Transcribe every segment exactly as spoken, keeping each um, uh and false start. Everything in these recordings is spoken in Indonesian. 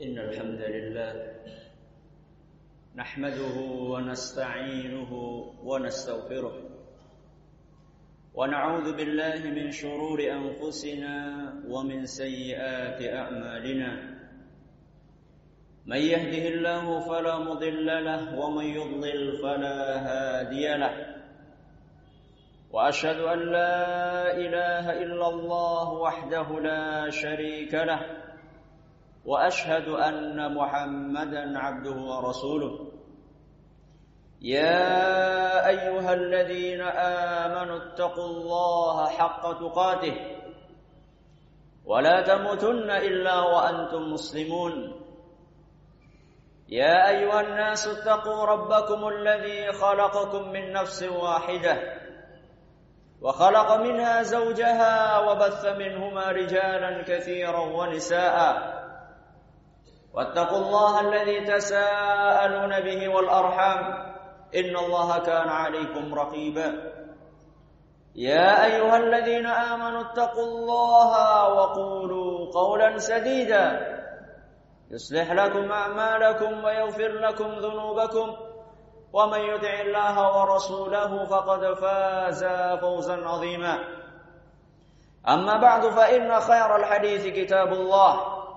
إن الحمد لله نحمده ونستعينه ونستغفره ونعوذ بالله من شرور أنفسنا ومن سيئات أعمالنا من يهده الله فلا مضل له ومن يضلل فلا هادي له وأشهد أن لا إله إلا الله وحده لا شريك له وأشهد أن محمدا عبده ورسوله يا أيها الذين آمنوا اتقوا الله حق تقاته ولا تموتن إلا وأنتم مسلمون يا أيها الناس اتقوا ربكم الذي خلقكم من نفس واحدة وخلق منها زوجها وبث منهما رجالا كثيرا ونساء واتقوا الله الذي تساءلون به والأرحام إن الله كان عليكم رقيبا يا أيها الذين آمنوا اتقوا الله وقولوا قولا سديدا يصلح لكم أعمالكم ويغفر لكم ذنوبكم ومن يطع الله ورسوله فقد فاز فوزا عظيما أما بعد فإن خير الحديث كتاب الله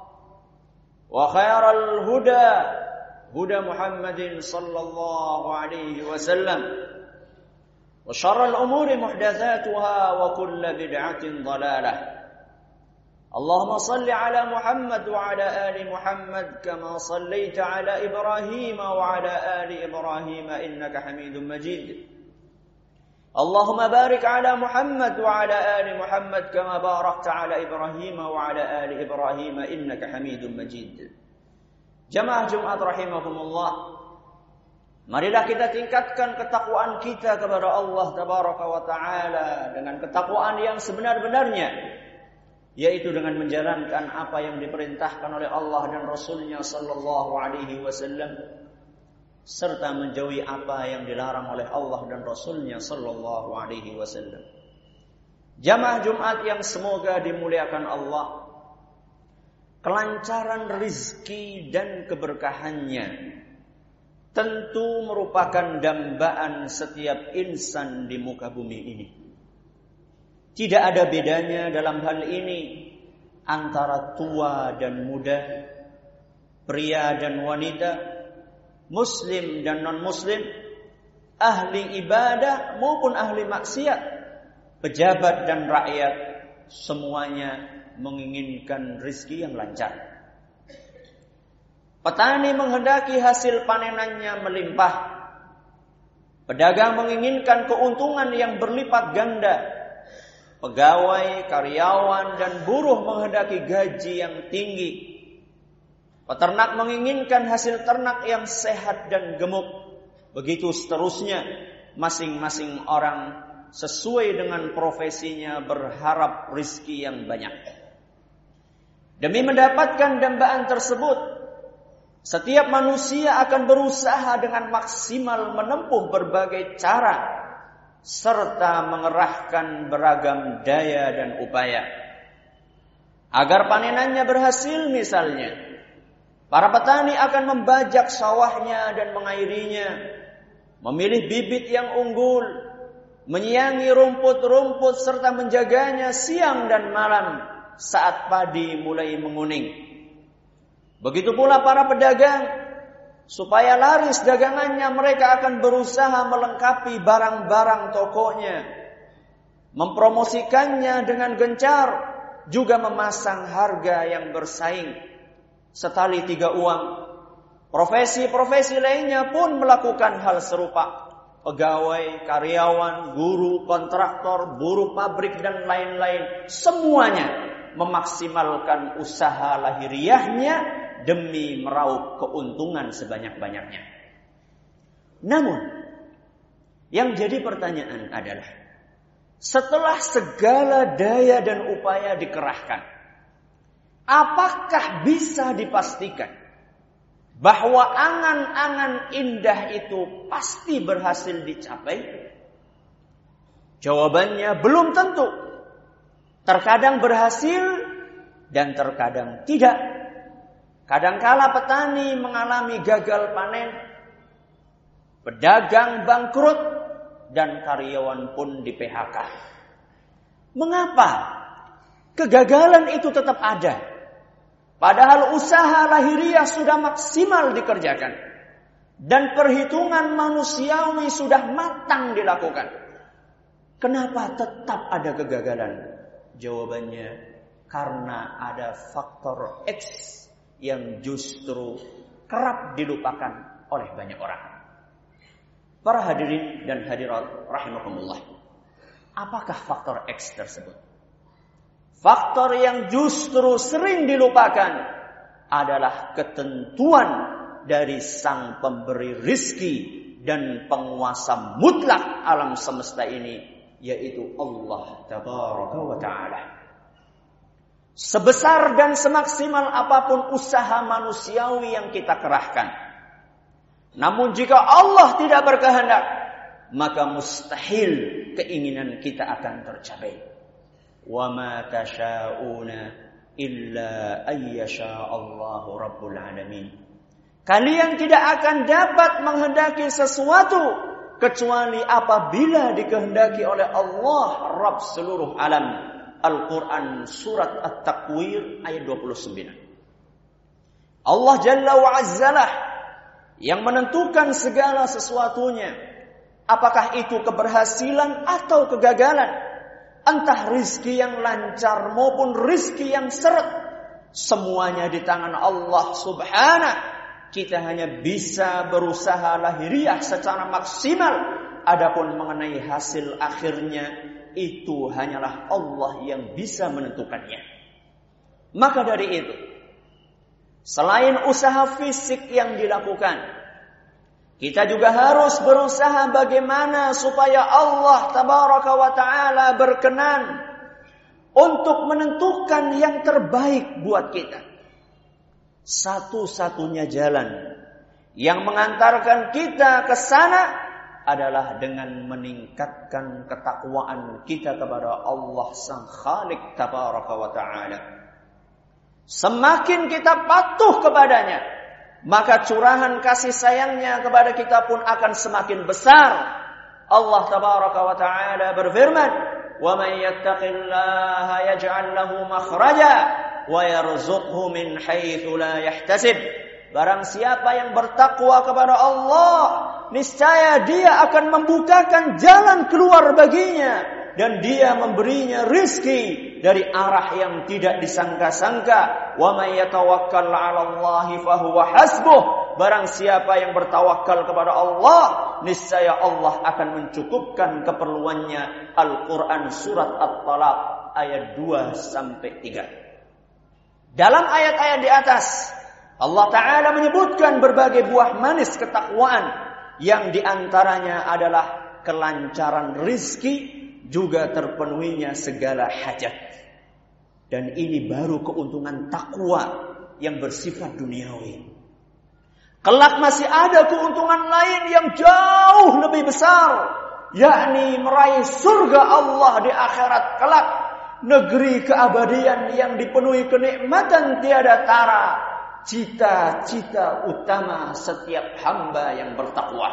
وخير الهدى هدى محمد صلى الله عليه وسلم وشر الأمور محدثاتها وكل بدعة ضلالة اللهم صل على محمد وعلى آل محمد كما صليت على إبراهيم وعلى آل إبراهيم إنك حميد مجيد اللهم بارك على محمد وعلى آل محمد كما باركت على إبراهيم وعلى آل إبراهيم إنك حميد مجيد. Jamaah Jumat rahimahumullah, marilah kita tingkatkan ketakwaan kita kepada Allah tabaraka wa ta'ala dengan ketakwaan yang sebenar-benarnya, yaitu dengan menjalankan apa yang diperintahkan oleh Allah dan Rasulnya sallallahu alaihi wasallam, serta menjauhi apa yang dilarang oleh Allah dan Rasulnya sallallahu alaihi wasallam. Jamaah Jumat yang semoga dimuliakan Allah, kelancaran rizki dan keberkahannya tentu merupakan dambaan setiap insan di muka bumi ini. Tidak ada bedanya dalam hal ini antara tua dan muda, pria dan wanita, muslim dan non-muslim, ahli ibadah maupun ahli maksiat, pejabat dan rakyat, semuanya menginginkan rizki yang lancar. Petani menghendaki hasil panenannya melimpah. Pedagang menginginkan keuntungan yang berlipat ganda. Pegawai, karyawan, dan buruh menghendaki gaji yang tinggi. Peternak menginginkan hasil ternak yang sehat dan gemuk. Begitu seterusnya, masing-masing orang sesuai dengan profesinya berharap rizki yang banyak. Demi mendapatkan dambaan tersebut, setiap manusia akan berusaha dengan maksimal menempuh berbagai cara, serta mengerahkan beragam daya dan upaya. Agar panenannya berhasil misalnya, para petani akan membajak sawahnya dan mengairinya, memilih bibit yang unggul, menyiangi rumput-rumput serta menjaganya siang dan malam saat padi mulai menguning. Begitu pula para pedagang, supaya laris dagangannya mereka akan berusaha melengkapi barang-barang tokonya, mempromosikannya dengan gencar, juga memasang harga yang bersaing. Setali tiga uang, profesi-profesi lainnya pun melakukan hal serupa. Pegawai, karyawan, guru, kontraktor, buruh pabrik, dan lain-lain, semuanya memaksimalkan usaha lahiriahnya demi meraup keuntungan sebanyak-banyaknya. Namun, yang jadi pertanyaan adalah, setelah segala daya dan upaya dikerahkan, apakah bisa dipastikan bahwa angan-angan indah itu pasti berhasil dicapai? Jawabannya belum tentu. Terkadang berhasil dan terkadang tidak. Kadangkala petani mengalami gagal panen, pedagang bangkrut, dan karyawan pun di P H K. Mengapa kegagalan itu tetap ada? Padahal usaha lahiriah sudah maksimal dikerjakan. Dan perhitungan manusiawi sudah matang dilakukan. Kenapa tetap ada kegagalan? Jawabannya, karena ada faktor X yang justru kerap dilupakan oleh banyak orang. Para hadirin dan hadirat rahimakumullah. Apakah faktor X tersebut? Faktor yang justru sering dilupakan adalah ketentuan dari sang pemberi rizki dan penguasa mutlak alam semesta ini, yaitu Allah Tabaraka wa Ta'ala. Sebesar dan semaksimal apapun usaha manusiawi yang kita kerahkan, namun jika Allah tidak berkehendak, maka mustahil keinginan kita akan tercapai. Wa ma tasha'una illa ayyasha Allahu Rabbul Alamin. Kalian tidak akan dapat menghendaki sesuatu kecuali apabila dikehendaki oleh Allah Rabb seluruh alam. Al-Quran surat At-Takwir ayat dua puluh sembilan. Allah Jalla wa Azzalah yang menentukan segala sesuatunya. Apakah itu keberhasilan atau kegagalan, entah rizki yang lancar maupun rizki yang seret, semuanya di tangan Allah Subhanahu. Kita hanya bisa berusaha lahiriah secara maksimal. Adapun mengenai hasil akhirnya, itu hanyalah Allah yang bisa menentukannya. Maka dari itu, selain usaha fisik yang dilakukan, kita juga harus berusaha bagaimana supaya Allah Tabaraka wa Ta'ala berkenan untuk menentukan yang terbaik buat kita. Satu-satunya jalan yang mengantarkan kita ke sana adalah dengan meningkatkan ketakwaan kita kepada Allah Sang Khalik Tabaraka wa Ta'ala. Semakin kita patuh kepadanya, maka curahan kasih sayangnya kepada kita pun akan semakin besar. Allah Tabaraka wa Ta'ala berfirman, "Wa man yattaqillaha yaj'al lahu makhraja wa yarzuqhu min haitsu la yahtasib." Barang siapa yang bertakwa kepada Allah, niscaya dia akan membukakan jalan keluar baginya dan dia memberinya rizki dari arah yang tidak disangka-sangka. Wa may yatawakkal 'alallahi fahuwa hasbuh. Barang siapa yang bertawakal kepada Allah, niscaya Allah akan mencukupkan keperluannya. Al-Quran surat At-Talaq ayat dua sampai tiga. Dalam ayat-ayat di atas, Allah Ta'ala menyebutkan berbagai buah manis ketakwaan, yang diantaranya adalah kelancaran rizki, juga terpenuhinya segala hajat. Dan ini baru keuntungan takwa yang bersifat duniawi. Kelak masih ada keuntungan lain yang jauh lebih besar, yakni meraih surga Allah di akhirat kelak, negeri keabadian yang dipenuhi kenikmatan tiada tara. Cita-cita utama setiap hamba yang bertakwa.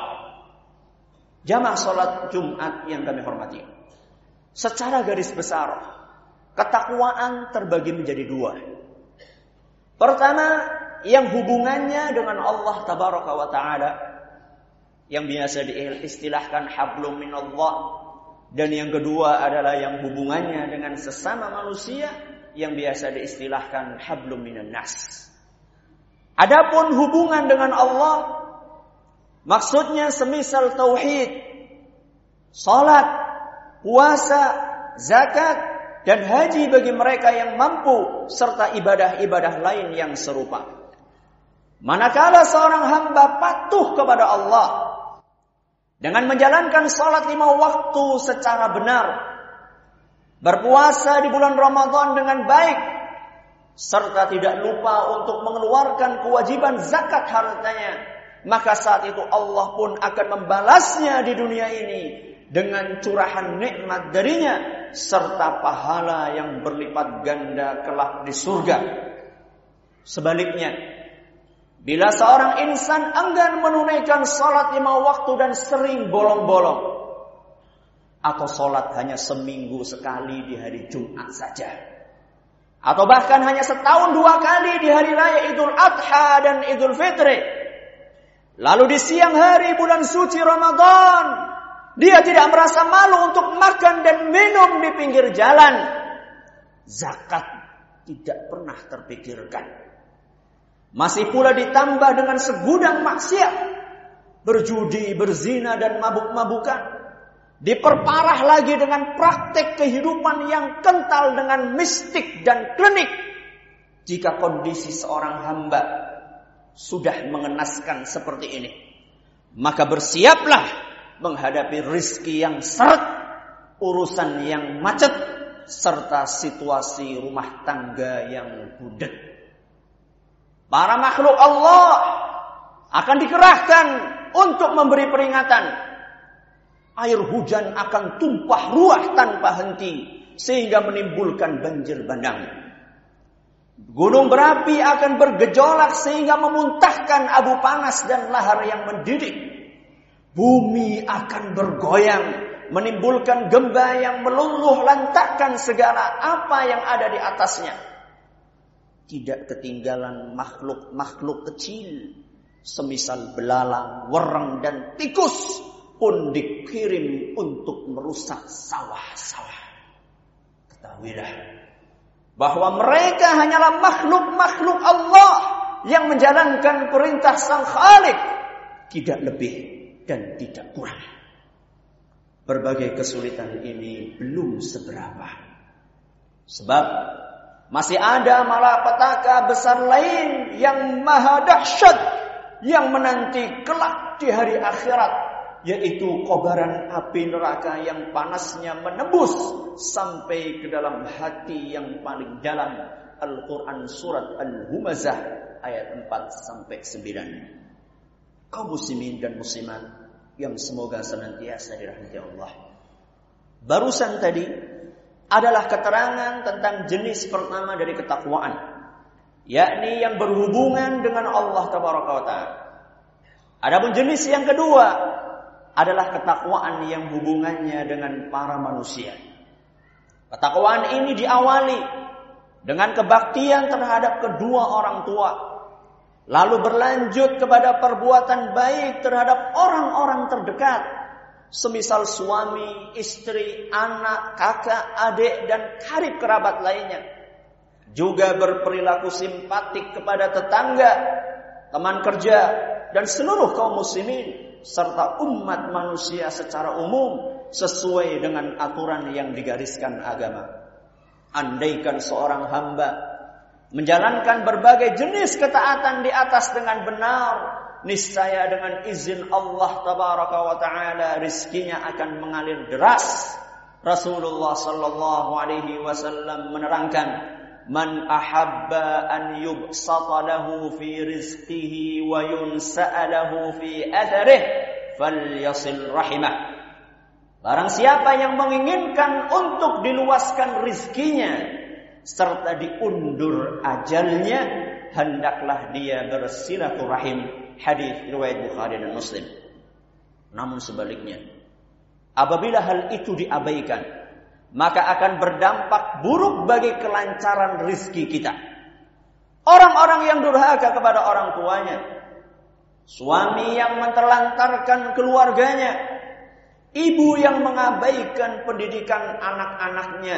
Jamaah salat Jumat yang kami hormati, secara garis besar, ketakwaan terbagi menjadi dua. Pertama, yang hubungannya dengan Allah Tabaraka wa Ta'ala, yang biasa diistilahkan hablum minallah. Dan yang kedua adalah yang hubungannya dengan sesama manusia, yang biasa diistilahkan hablum minan nas. Adapun hubungan dengan Allah, maksudnya semisal tauhid, salat, puasa, zakat, dan haji bagi mereka yang mampu, serta ibadah-ibadah lain yang serupa. Manakala seorang hamba patuh kepada Allah dengan menjalankan salat lima waktu secara benar, berpuasa di bulan Ramadan dengan baik, serta tidak lupa untuk mengeluarkan kewajiban zakat hartanya, maka saat itu Allah pun akan membalasnya di dunia ini dengan curahan nikmat darinya, serta pahala yang berlipat ganda kelak di surga. Sebaliknya, Bila seorang insan enggan menunaikan salat lima waktu dan sering bolong-bolong, atau salat hanya seminggu sekali di hari Jumat saja, atau bahkan hanya setahun dua kali di hari raya Idul Adha dan Idul Fitri, lalu di siang hari bulan suci Ramadan dia tidak merasa malu untuk makan dan minum di pinggir jalan, zakat tidak pernah terpikirkan. Masih pula ditambah dengan segudang maksiat, berjudi, berzina dan mabuk-mabukan. Diperparah lagi dengan praktek kehidupan yang kental dengan mistik dan klinik. Jika kondisi seorang hamba sudah mengenaskan seperti ini, maka bersiaplah menghadapi rizki yang seret, urusan yang macet, serta situasi rumah tangga yang budet. Para makhluk Allah akan dikerahkan untuk memberi peringatan. Air hujan akan tumpah ruah tanpa henti sehingga menimbulkan banjir bandang. Gunung berapi akan bergejolak sehingga memuntahkan abu panas dan lahar yang mendidih. Bumi akan bergoyang, menimbulkan gempa yang meluluh lantakkan segala apa yang ada di atasnya. Tidak ketinggalan makhluk-makhluk kecil, semisal belalang, wereng, dan tikus pun dikirim untuk merusak sawah-sawah. Ketahuilah bahwa mereka hanyalah makhluk-makhluk Allah yang menjalankan perintah Sang Khalik, tidak lebih dan tidak kurang. Berbagai kesulitan ini belum seberapa, sebab masih ada malapetaka besar lain yang maha dahsyat yang menanti kelak di hari akhirat, yaitu kobaran api neraka yang panasnya menembus sampai ke dalam hati yang paling dalam. Al-Quran surat Al-Humazah ayat empat sampai sembilan. Kaum muslimin dan muslimat yang semoga senantiasa dirahmati Allah, barusan tadi adalah keterangan tentang jenis pertama dari ketakwaan, yakni yang berhubungan dengan Allah Tabaraka wa Ta'ala. Adapun jenis yang kedua adalah ketakwaan yang hubungannya dengan para manusia. Ketakwaan ini diawali dengan kebaktian terhadap kedua orang tua, lalu berlanjut kepada perbuatan baik terhadap orang-orang terdekat, semisal suami, istri, anak, kakak, adik, dan karib kerabat lainnya. Juga berperilaku simpatik kepada tetangga, teman kerja, dan seluruh kaum muslimin, serta umat manusia secara umum, sesuai dengan aturan yang digariskan agama. Andaikan seorang hamba menjalankan berbagai jenis ketaatan di atas dengan benar, niscaya dengan izin Allah Tabaraka wa Ta'ala rizkinya akan mengalir deras. Rasulullah sallallahu alaihi wasallam menerangkan, man ahabba an yubsata lahu fi rizqihi wa yunsa'a lahu fi atharih falyasil rahimah. Barang siapa yang menginginkan untuk diluaskan rizkinya serta diundur ajalnya, hendaklah dia bersilaturahim. Hadis riwayat Bukhari dan Muslim. Namun sebaliknya, apabila hal itu diabaikan, maka akan berdampak buruk bagi kelancaran rizki kita. Orang-orang yang durhaka kepada orang tuanya, suami yang menterlantarkan keluarganya, ibu yang mengabaikan pendidikan anak-anaknya,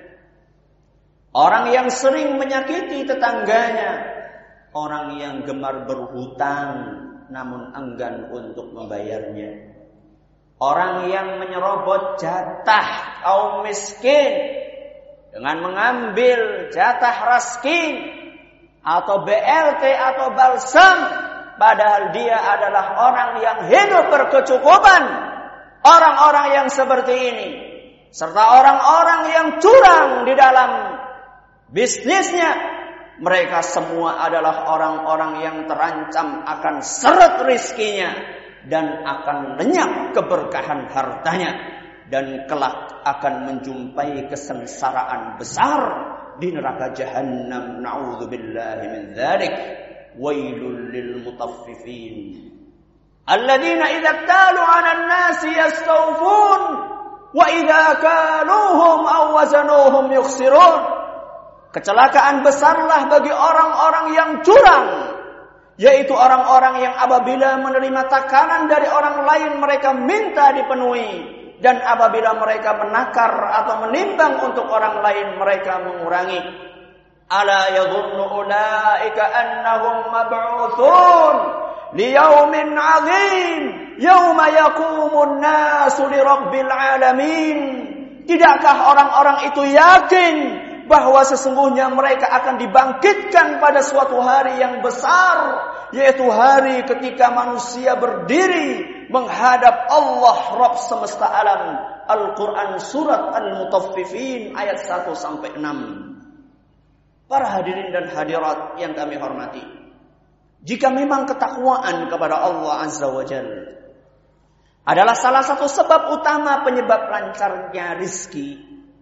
orang yang sering menyakiti tetangganya, orang yang gemar berhutang namun enggan untuk membayarnya, orang yang menyerobot jatah kaum miskin dengan mengambil jatah raskin atau B L T atau balsam, padahal dia adalah orang yang hidup berkecukupan. Orang-orang yang seperti ini serta orang-orang yang curang di dalam bisnisnya, mereka semua adalah orang-orang yang terancam akan seret rizkinya dan akan lenyap keberkahan hartanya, dan kelak akan menjumpai kesengsaraan besar di neraka Jahannam. Na'udzubillahi min dzalik. wailul lil mutaffifin alladzina idza talu 'alan nasi yastawfun wa idza kaluhum aw wazanuhum yukhsirun. Kecelakaan besarlah bagi orang-orang yang curang, yaitu orang-orang yang apabila menerima takaran dari orang lain mereka minta dipenuhi, dan apabila mereka menakar atau menimbang untuk orang lain mereka mengurangi. Ala yadhunnu ulaika annahum mab'utsun liyaumin 'adzim yauma yaqumun nasu lirabbil alamin. Tidakkah orang-orang itu yakin bahwa sesungguhnya mereka akan dibangkitkan pada suatu hari yang besar, yaitu hari ketika manusia berdiri menghadap Allah Rabb semesta alam. Al-Quran surat Al-Mutaffifin ayat satu sampai enam. Para hadirin dan hadirat yang kami hormati, jika memang ketakwaan kepada Allah Azza wa Jalla adalah salah satu sebab utama penyebab lancarnya rizki,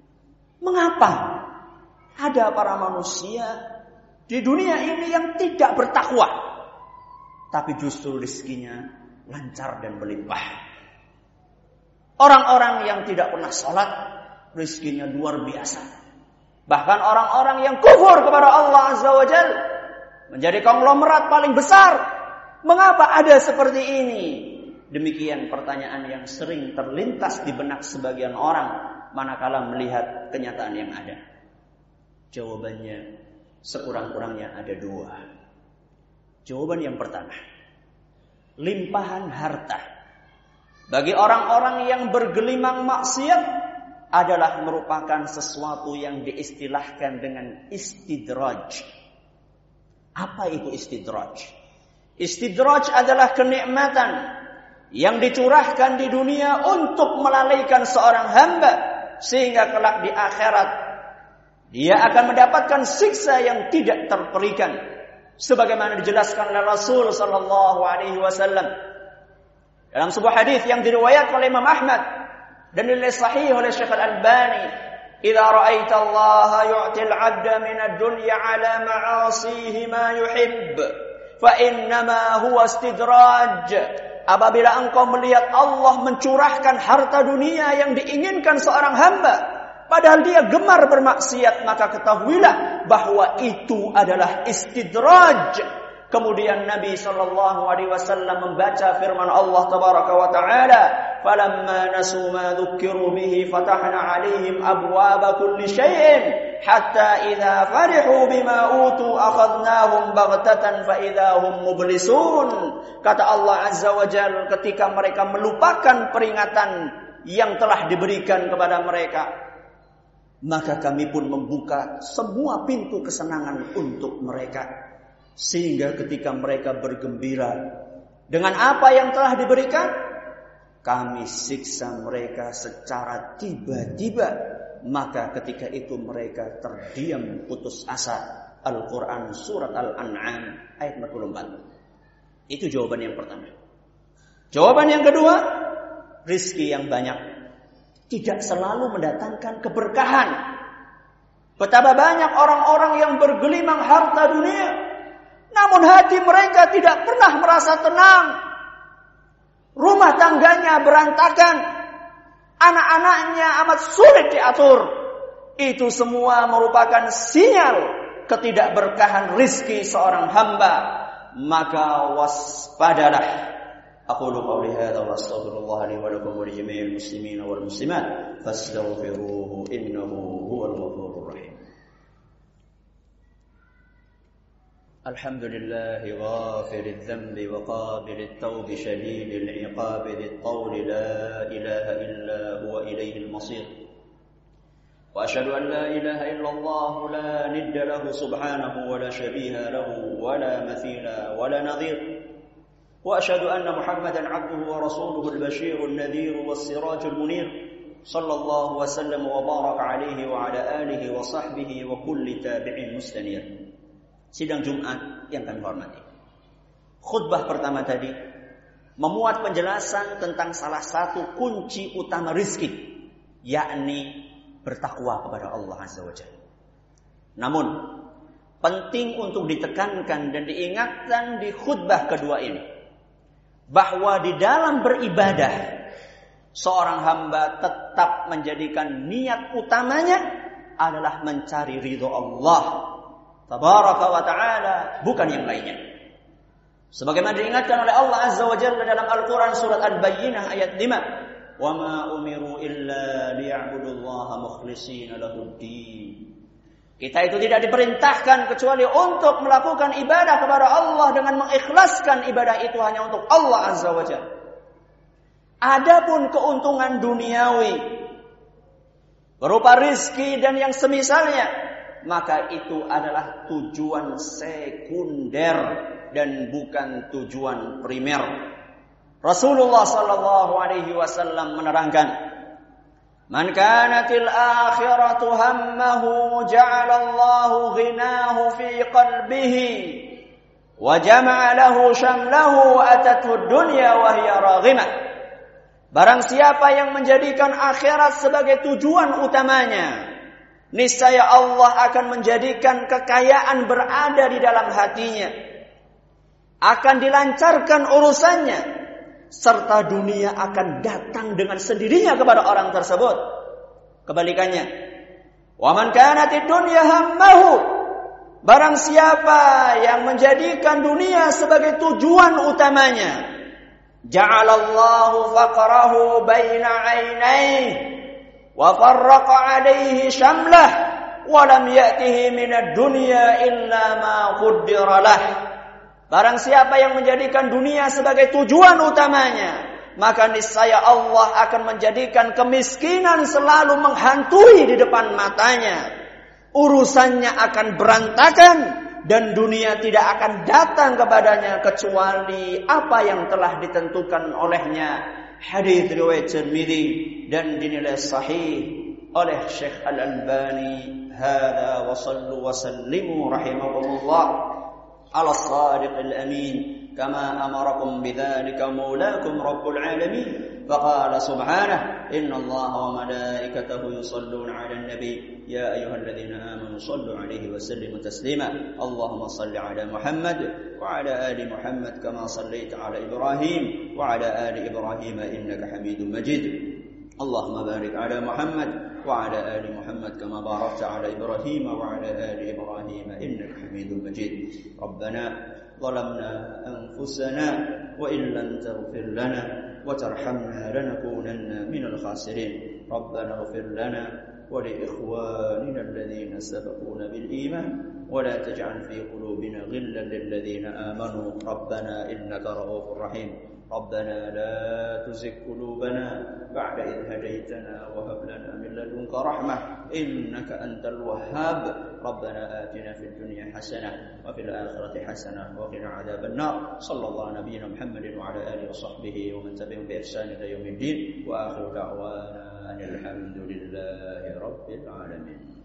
mengapa ada para manusia di dunia ini yang tidak bertakwa, tapi justru rizkinya lancar dan melimpah? Orang-orang yang tidak pernah sholat, rizkinya luar biasa. Bahkan orang-orang yang kufur kepada Allah Azza wa Jalla menjadi konglomerat paling besar. Mengapa ada seperti ini? Demikian pertanyaan yang sering terlintas di benak sebagian orang manakala melihat kenyataan yang ada. Jawabannya sekurang-kurangnya ada dua. Jawaban yang pertama, limpahan harta bagi orang-orang yang bergelimang maksiat adalah merupakan sesuatu yang diistilahkan dengan istidraj. Apa itu istidraj? Istidraj adalah kenikmatan yang dicurahkan di dunia untuk melalaikan seorang hamba, sehingga kelak di akhirat dia akan mendapatkan siksa yang tidak terperikan, sebagaimana dijelaskan oleh Rasul sallallahu alaihi wasallam dalam sebuah hadis yang diriwayatkan oleh Imam Ahmad dan dinilai sahih oleh Syekh Al-Albani. Idza ra'aita Allah yu'til 'abda min ad-dunya 'ala ma'asihi ma yuhibb fa innama huwa istidraj. Apabila engkau melihat Allah mencurahkan harta dunia yang diinginkan seorang hamba, padahal dia gemar bermaksiat, maka ketahuilah bahwa itu adalah istidraj. Kemudian Nabi sallallahu alaihi wasallam membaca firman Allah tabaraka wa taala, "Falamma nasu ma dzukkiru bihi fatahna 'alaihim abwaaba kulli syai'in hatta idza farihu bima utu akhadnahum baghtatan fa idza hum mublisun." Kata Allah Azza wa Jalla, ketika mereka melupakan peringatan yang telah diberikan kepada mereka, maka kami pun membuka semua pintu kesenangan untuk mereka, sehingga ketika mereka bergembira dengan apa yang telah diberikan, kami siksa mereka secara tiba-tiba. Maka ketika itu mereka terdiam putus asa. Al-Quran surat Al-An'am ayat empat puluh empat. Itu jawaban yang pertama. Jawaban yang kedua, rizki yang banyak tidak selalu mendatangkan keberkahan. Betapa banyak orang-orang yang bergelimang harta dunia, namun hati mereka tidak pernah merasa tenang. Rumah tangganya berantakan, anak-anaknya amat sulit diatur. Itu semua merupakan sinyal ketidakberkahan rizki seorang hamba. Maka waspadalah. Aqulu qawli hadza wa astaghfirullah li wa lakum wa li jami'il muslimin wal muslimat fastaghfiruhu innahu huwal ghafurur rahim. Alhamdulillah ghafiril dhanbi wa qabilit tawbi shadidil iqabi dhit tawli la ilaha illa huwa ilayhil masir. Wa asyhadu an la ilaha illallah la nidda lahu subhanahu wa la shabiha lahu wa la mathila wa la nadhir. Wa asyhadu anna Muhammadan 'abduhu wa rasuluhu al-bashirun nadhir was-sirajul munir. Sallallahu wa sallam wa baraka alaihi wa ala alihi wa sahbihi wa kulli tabi'in mustanir. Sidang Jumat yang kami hormati, khutbah pertama tadi memuat penjelasan tentang salah satu kunci utama rizki, yakni bertakwa kepada Allah Azza wa Jalla. Namun penting untuk ditekankan dan diingatkan di khutbah kedua ini, bahwa di dalam beribadah seorang hamba tetap menjadikan niat utamanya adalah mencari ridho Allah tabaraka wa ta'ala, bukan yang lainnya. Sebagaimana diingatkan oleh Allah Azza wa Jalla dalam Al-Quran surat Al-Bayyinah ayat lima, wa ma umiru illa liya'budullaha mukhlishina lahuddin. Kita itu tidak diperintahkan kecuali untuk melakukan ibadah kepada Allah dengan mengikhlaskan ibadah itu hanya untuk Allah Azza wa Jalla. Adapun keuntungan duniawi berupa rizki dan yang semisalnya, maka itu adalah tujuan sekunder dan bukan tujuan primer. Rasulullah sallallahu alaihi wasallam menerangkan, "Man kanatil akhiratu hammahu ja'ala Allahu ghinahu fi qalbihi wa jama'a lahu shamlahu atathu dunya wa hiya raghimah." Barang siapa yang menjadikan akhirat sebagai tujuan utamanya, niscaya Allah akan menjadikan kekayaan berada di dalam hatinya, akan dilancarkan urusannya, serta dunia akan datang dengan sendirinya kepada orang tersebut. Kebalikannya, wa man kanatid dunya hammahu, barang siapa yang menjadikan dunia sebagai tujuan utamanya, ja'alallahu faqrahu baina 'ainaihi wa farraqa 'alaihi syamlah wa lam ya'tihi minad dunya illa ma qaddara lah. Barang siapa yang menjadikan dunia sebagai tujuan utamanya, maka niscaya Allah akan menjadikan kemiskinan selalu menghantui di depan matanya. Urusannya akan berantakan dan dunia tidak akan datang kepadanya kecuali apa yang telah ditentukan olehnya. Hadis riwayat Tirmidzi dan dinilai sahih oleh Syekh Al-Albani. Hada wa sallu wa sallimu rahimakumullah ala as-sadiqil amin kama amarakum bidzalika maulakum rabbul alamin. فقال سبحانه إن الله وملائكته يصلون على النبي يا أيها الذين آمنوا صلوا عليه وسلموا تسليما اللهم صل على محمد وعلى آل محمد كما صليت على إبراهيم وعلى آل إبراهيم إنك حميد مجيد اللهم بارك على محمد وعلى آل محمد كما باركت على إبراهيم وعلى آل إبراهيم إنك حميد مجيد ربنا ظلمنا أنفسنا وإن لم تغفر لنا وترحمنا لنكونن من الخاسرين ربنا اغفر لنا ولإخواننا الذين سبقونا بالإيمان ولا تجعل في قلوبنا غلا للذين آمنوا ربنا إنك رؤوف رحيم ربنا لا تزغ قلوبنا بعد إذ هديتنا وهب لنا من لدنك رحمة إنك أنت الوهاب ربنا آتنا في الدنيا حسنة وفي الآخرة حسنة وقنا عذاب النار صلى الله على نبينا محمد وعلى آله وصحبه ومن تبعهم بإحسان إلى يوم الدين وآخر دعوانا أن الحمد لله رب العالمين.